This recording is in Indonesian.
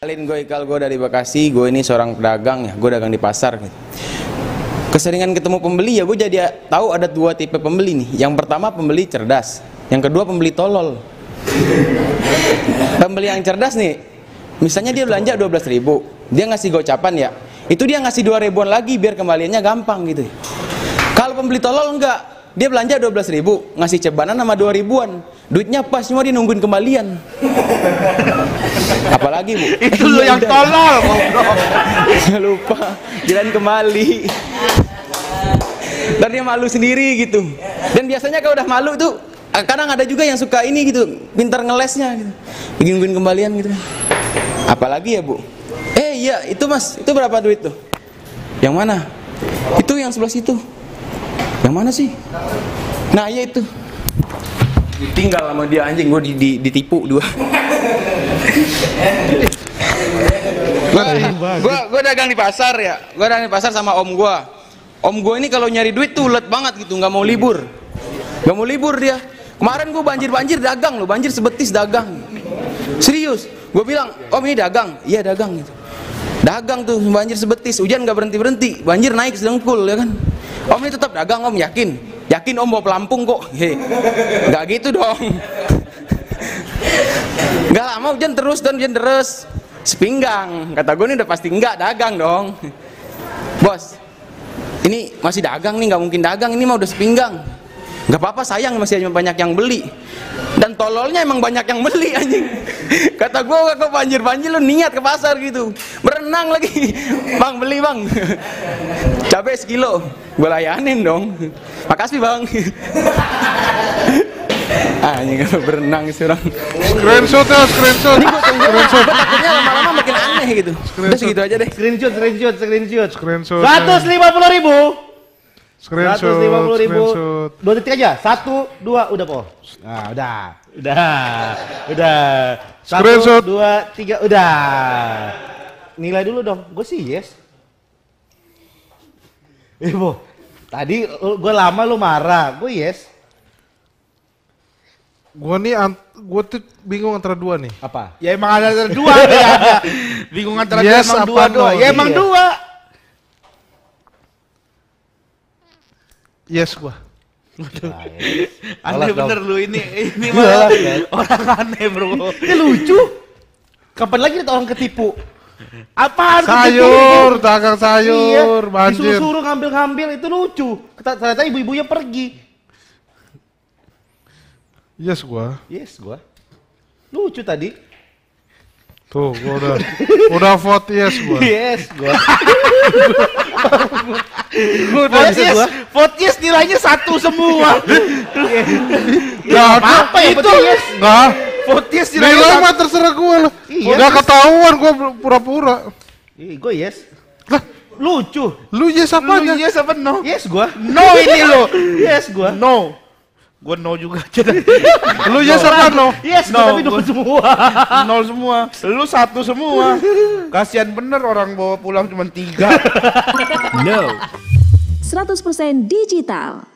Kenalin, gue Ikal, gue dari Bekasi. Gue ini seorang pedagang ya, gue dagang di pasar gitu. Keseringan ketemu pembeli ya, gue jadi tahu ada dua tipe pembeli nih. Yang pertama pembeli cerdas, yang kedua pembeli tolol. Pembeli yang cerdas nih, misalnya dia belanja 12.000, dia ngasih gocapan ya, itu dia ngasih 2 ribuan lagi biar kembaliannya gampang gitu. Kalau pembeli tolol enggak, dia belanja 12.000, ngasih cebanan sama 2 ribuan, duitnya pas, cuma dia nungguin kembalian. Apalagi Bu, itu lo yang tolol. Lupa jalan kembali. Dan dia malu sendiri gitu. Dan biasanya kalau udah malu tuh, kadang ada juga yang suka ini gitu, pintar ngelesnya gitu, bikin kembalian gitu. Apalagi ya Bu, iya itu Mas, itu berapa duit tuh? Yang mana? Itu yang sebelah situ. Yang mana sih? Nah iya itu. Ditinggal sama dia, anjing, gue ditipu 2. Gue dagang di pasar ya, gue dagang di pasar sama om gue. Om gue ini kalau nyari duit tuh ulet banget gitu, nggak mau libur, nggak mau libur dia. Kemarin gue banjir dagang loh, banjir sebetis dagang. Serius, gue bilang, om ini dagang? Iya dagang gitu. Dagang tuh banjir sebetis, hujan nggak berhenti, banjir naik sedengkul ya kan. Om ini tetap dagang, om yakin? Yakin om bawa pelampung kok? Nggak gitu dong. Nggak lama hujan terus dan hujan deres, sepinggang. Kata gue ini udah pasti nggak dagang dong. Bos, ini masih dagang nih, nggak mungkin dagang, ini mah udah sepinggang. Nggak apa-apa, sayang masih banyak yang beli. Dan tololnya emang banyak yang beli anjing. Kata gue, kok banjir lu niat ke pasar gitu, berenang lagi. Bang beli bang, cabai sekilo, gue layanin dong. Makasih bang. Anjing kalau berenang seorang. Screenshot ya, screenshot. Ini gue takutnya lama-lama makin aneh gitu. Udah segitu aja deh. Screenshot. 150.000. 150.000. 2 detik aja. 1, 2, udah po. Nah, udah. 1, Screenshot. 2, 3, udah. Nilai dulu dong. Gue sih yes. Ibu, tadi gue lama lu marah. Gue yes. Gue tuh bingung antara 2 nih. Apa? Ya emang ada 2 ya. Bingung antara yes, emang 2 doang. Ya emang 2. Yes gua. Nah, yes. Aneh bener lu ini malah orang aneh bro. Ini lucu. Kapan lagi ada orang ketipu? Apaan sayur, dagang sayur, iya, banjir. disuruh ngambil itu lucu. Ternyata ibu-ibunya pergi. Yes gua. Lucu tadi. Tuh, gua udah vote yes gua. Yes gua. Vote yes nilainya 1 semua. Gak apa-apa ya, itu. Yes. Enggak. Vote yes nilai mah terserah gua lah. Iya, udah ketahuan gua pura-pura. Gue yes. Lah, lucu. Lu yes apanya? Lu yes apa no? Yes gua. No ini lo. Yes gua. No. Gua no juga aja. Lu yes apa no? Yes, no, tapi no semua. 0 semua. Lu 1 semua. Kasihan bener orang bawa pulang cuma 3. No. 100% digital.